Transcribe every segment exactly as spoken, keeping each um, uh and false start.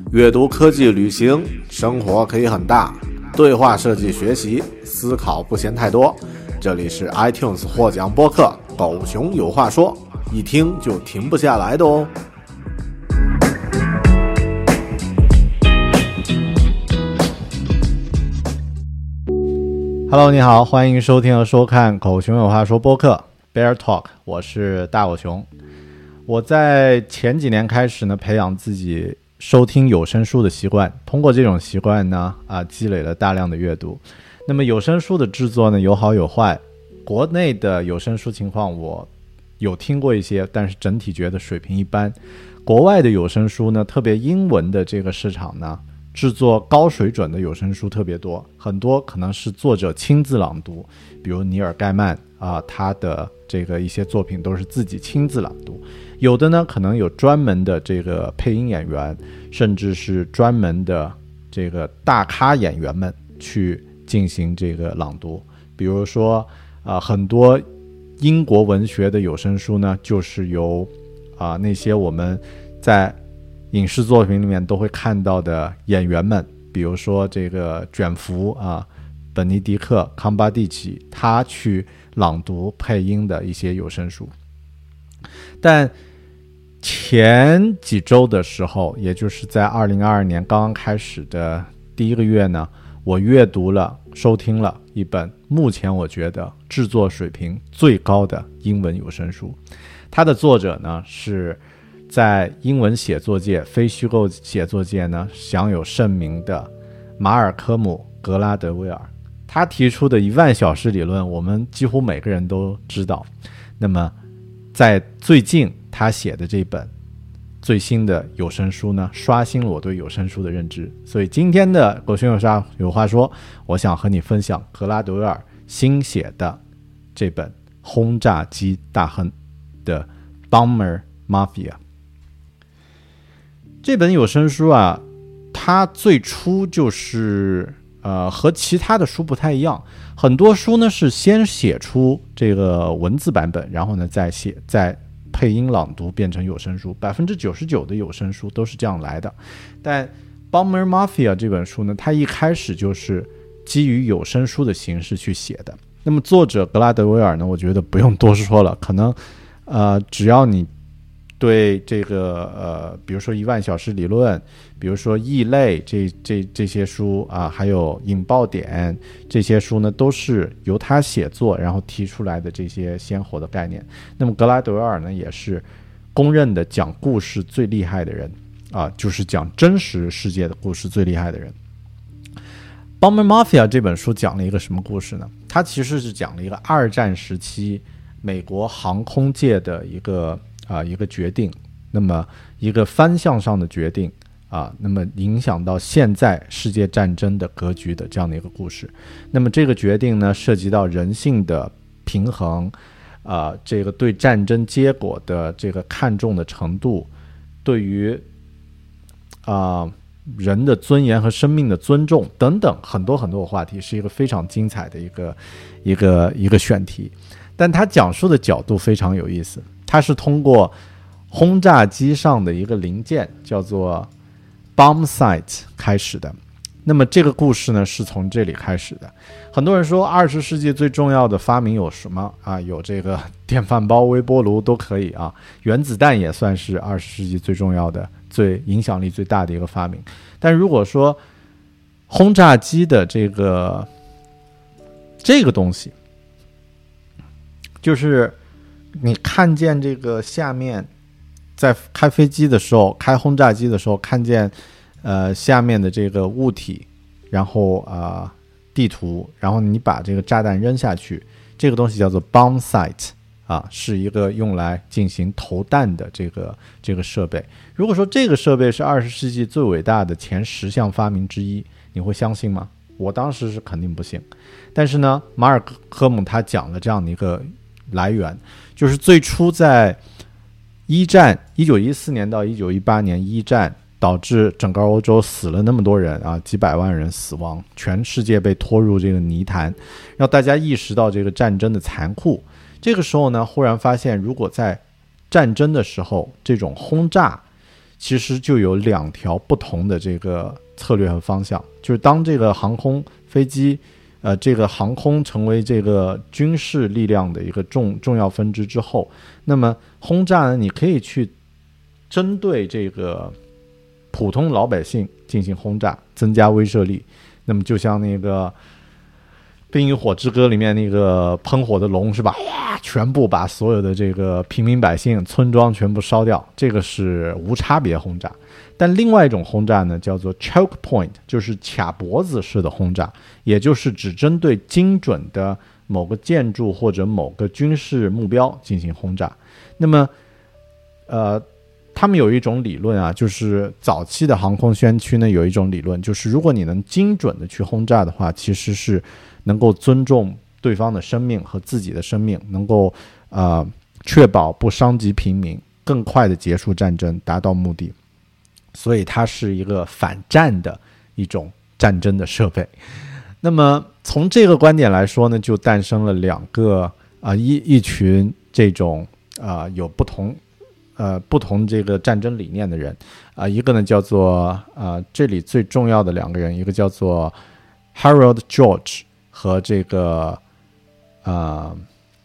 阅读、科技、旅行，生活可以很大。对话设计学习，思考不嫌太多。这里是 iTunes 获奖播客《狗熊有话说》，一听就停不下来的哦。Hello， 你好，欢迎收听和收看《狗熊有话说》播客 Bear Talk， 我是大狗熊。我在前几年开始呢，培养自己收听有声书的习惯，通过这种习惯呢，啊，积累了大量的阅读。那么有声书的制作呢，有好有坏。国内的有声书情况我有听过一些，但是整体觉得水平一般。国外的有声书呢，特别英文的这个市场呢，制作高水准的有声书特别多，很多可能是作者亲自朗读，比如尼尔盖曼啊，他的这个一些作品都是自己亲自朗读。有的呢，可能有专门的这个配音演员，甚至是专门的这个大咖演员们去进行这个朗读。比如说，啊、呃，很多英国文学的有声书呢，就是由啊、呃、那些我们在影视作品里面都会看到的演员们，比如说这个卷福啊，本尼迪克·康巴蒂奇，他去朗读配音的一些有声书。但前几周的时候，也就是在二零二二年刚刚开始的第一个月呢，我阅读了、收听了一本目前我觉得制作水平最高的英文有声书。它的作者呢是在英文写作界、非虚构写作界呢享有盛名的马尔科姆·格拉德威尔。他提出的一万小时理论，我们几乎每个人都知道。那么在最近他写的这本最新的有声书呢，刷新了我对有声书的认知。所以今天的狗熊有啥有话说，我想和你分享格拉德威尔新写的这本轰炸机大亨的 Bomber Mafia。 这本有声书啊，它最初就是呃和其他的书不太一样。很多书呢是先写出这个文字版本，然后呢再写再配音朗读变成有声书， 百分之九十九 的有声书都是这样来的。但 Bomber Mafia 这本书呢，它一开始就是基于有声书的形式去写的。那么作者格拉德威尔呢，我觉得不用多说了，可能呃只要你对这个呃，比如说一万小时理论，比如说异类这这这些书啊，还有引爆点这些书呢，都是由他写作然后提出来的这些鲜活的概念。那么格拉德威尔呢，也是公认的讲故事最厉害的人啊，就是讲真实世界的故事最厉害的人。Bomber Mafia 这本书讲了一个什么故事呢？它其实是讲了一个二战时期美国航空界的一个啊，一个决定，那么一个方向上的决定啊，那么影响到现在世界战争的格局的这样的一个故事。那么这个决定呢，涉及到人性的平衡，啊，这个对战争结果的这个看重的程度，对于啊人的尊严和生命的尊重等等很多很多的话题，是一个非常精彩的一个一个一个选题。但他讲述的角度非常有意思。它是通过轰炸机上的一个零件叫做 bomb sight 开始的。那么这个故事呢是从这里开始的。很多人说二十世纪最重要的发明有什么啊？有这个电饭煲、微波炉都可以啊，原子弹也算是二十世纪最重要的、最影响力最大的一个发明。但如果说轰炸机的这个这个东西，就是你看见这个下面，在开飞机的时候，开轰炸机的时候，看见呃下面的这个物体，然后啊、呃、地图，然后你把这个炸弹扔下去，这个东西叫做 bomb sight 啊，是一个用来进行投弹的这个这个设备。如果说这个设备是二十世纪最伟大的前十项发明之一，你会相信吗？我当时是肯定不信。但是呢，马尔科姆他讲了这样的一个来源，就是最初在一战一九一四年到一九一八年一战导致整个欧洲死了那么多人啊，几百万人死亡，全世界被拖入这个泥潭，让大家意识到这个战争的残酷。这个时候呢，忽然发现如果在战争的时候这种轰炸其实就有两条不同的这个策略和方向。就是当这个航空飞机呃，这个航空成为这个军事力量的一个重重要分支之后，那么轰炸呢，你可以去针对这个普通老百姓进行轰炸，增加威慑力。那么就像那个《冰与火之歌》里面那个喷火的龙是吧？全部把所有的这个平民百姓、村庄全部烧掉，这个是无差别轰炸。但另外一种轰炸呢，叫做 choke point， 就是卡脖子式的轰炸，也就是只针对精准的某个建筑或者某个军事目标进行轰炸。那么，呃，他们有一种理论啊，就是早期的航空宣区呢有一种理论，就是如果你能精准的去轰炸的话，其实是能够尊重对方的生命和自己的生命，能够呃确保不伤及平民，更快的结束战争，达到目的。所以它是一个反战的一种战争的设备。那么从这个观点来说呢，就诞生了两个啊、呃、一一群这种啊、呃、有不同呃不同这个战争理念的人啊、呃，一个呢叫做啊、呃、这里最重要的两个人，一个叫做 Harold George 和这个啊、呃、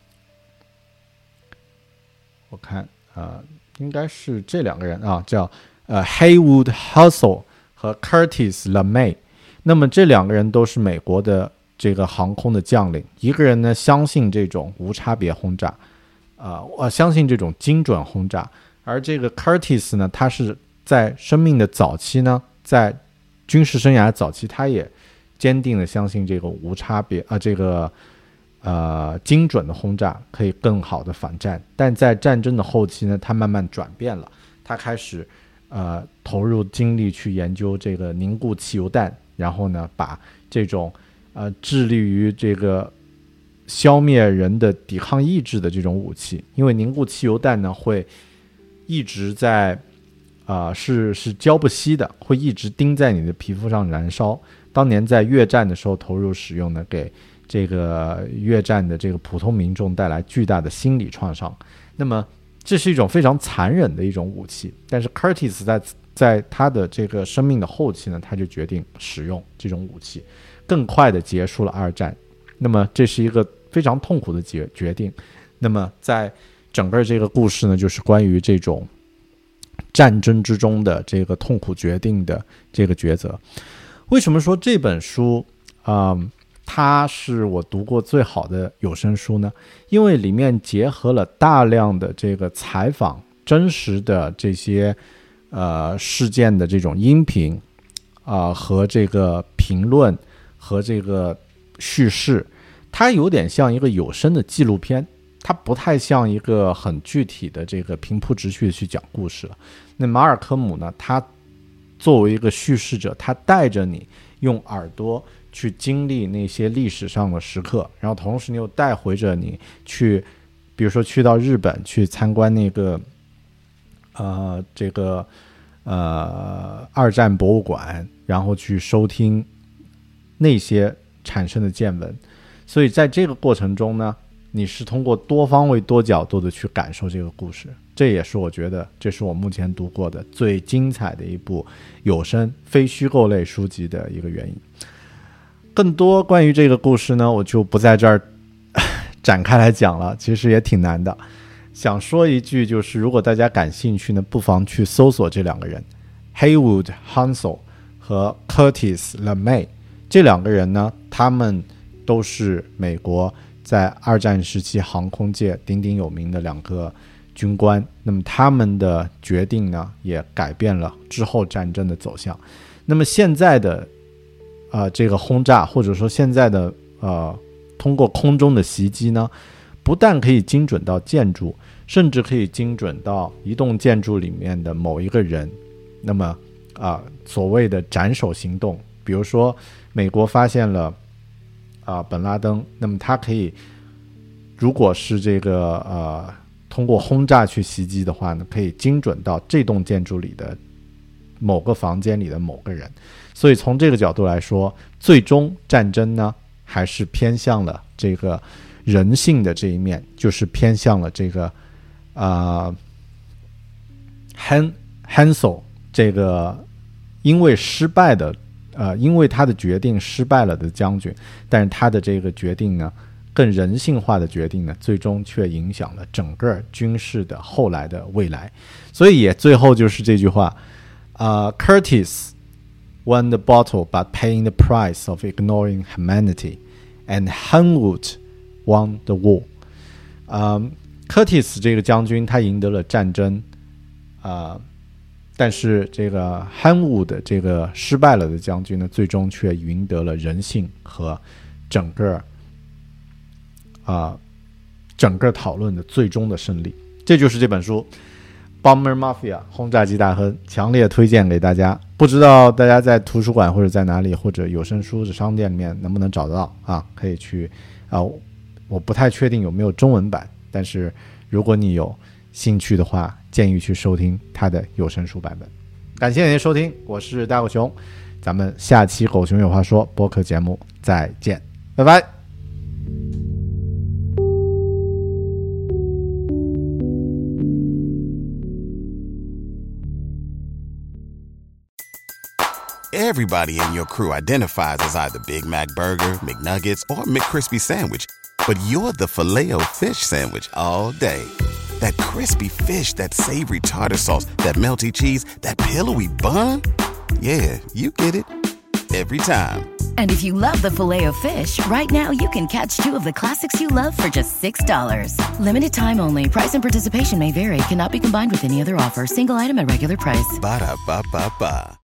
我看啊、呃、应该是这两个人啊，叫呃 Haywood Hassel 和 Curtis LeMay。 那么这两个人都是美国的这个航空的将领，一个人呢相信这种无差别轰炸啊、呃，相信这种精准轰炸，而这个 Curtis 呢，他是在生命的早期呢，在军事生涯早期，他也坚定的相信这个无差别啊、呃，这个呃精准的轰炸可以更好的反战。但在战争的后期呢，他慢慢转变了，他开始呃投入精力去研究这个凝固汽油弹，然后呢，把这种呃致力于这个消灭人的抵抗意志的这种武器，因为凝固汽油弹呢会一直在啊、呃、是是浇不熄的，会一直钉在你的皮肤上燃烧。当年在越战的时候投入使用呢，给这个越战的这个普通民众带来巨大的心理创伤。那么这是一种非常残忍的一种武器，但是 Curtis 在在他的这个生命的后期呢，他就决定使用这种武器，更快的结束了二战。那么这是一个非常痛苦的决决定。那么在整个这个故事呢，就是关于这种战争之中的这个痛苦决定的这个抉择。为什么说这本书啊、嗯，它是我读过最好的有声书呢？因为里面结合了大量的这个采访、真实的这些呃事件的这种音频啊、呃、和这个评论和这个叙事，它有点像一个有声的纪录片，它不太像一个很具体的这个平铺直叙的去讲故事了。那马尔科姆呢，他作为一个叙事者，他带着你用耳朵去经历那些历史上的时刻，然后同时你又带回着你去，比如说去到日本去参观那个呃这个呃二战博物馆，然后去收听那些产生的见闻。所以在这个过程中呢，你是通过多方位多角度的去感受这个故事，这也是我觉得这是我目前读过的最精彩的一部有声非虚构类书籍的一个原因。更多关于这个故事呢，我就不在这儿展开来讲了，其实也挺难的。想说一句，就是如果大家感兴趣呢，不妨去搜索这两个人 Haywood Hassel 和 Curtis LeMay。 这两个人呢，他们都是美国在二战时期航空界鼎鼎有名的两个军官。那么他们的决定呢，也改变了之后战争的走向。那么现在的呃这个轰炸，或者说现在的呃通过空中的袭击呢，不但可以精准到建筑，甚至可以精准到一栋建筑里面的某一个人。那么啊、呃、所谓的斩首行动，比如说美国发现了啊、呃、本拉登，那么他可以如果是这个呃通过轰炸去袭击的话呢，可以精准到这栋建筑里的某个房间里的某个人。所以从这个角度来说，最终战争呢还是偏向了这个人性的这一面，就是偏向了这个呃 Hen Hansel 这个因为失败的呃，因为他的决定失败了的将军，但是他的这个决定呢，更人性化的决定呢，最终却影响了整个军事的后来的未来。所以也最后就是这句话，呃 Curtis won the battle by paying the price of ignoring humanity, and Henwood won the war。嗯 Curtis 这个将军他赢得了战争，啊、呃。但是这个 Henwood 这个失败了的将军呢，最终却赢得了人性和整个啊、呃、整个讨论的最终的胜利。这就是这本书 Bomber Mafia 轰炸机大亨，强烈推荐给大家。不知道大家在图书馆或者在哪里，或者有声书的商店里面能不能找得到啊？可以去啊、呃，我不太确定有没有中文版，但是如果你有兴趣的话，建议去收听他的有声书版本。感谢您的收听，我是大狗熊，咱们下期狗熊有话说播客节目再见，拜拜。 Everybody in your crew identifies as either Big Mac Burger, McNuggets, or McCrispy Sandwich, but you're the Filet-O-Fish Sandwich all day. That crispy fish, that savory tartar sauce, that melty cheese, that pillowy bun. Yeah, you get it. Every time. And if you love the Filet-O-Fish, right now you can catch two of the classics you love for just six dollars. Limited time only. Price and participation may vary. Cannot be combined with any other offer. Single item at regular price. Ba-da-ba-ba-ba.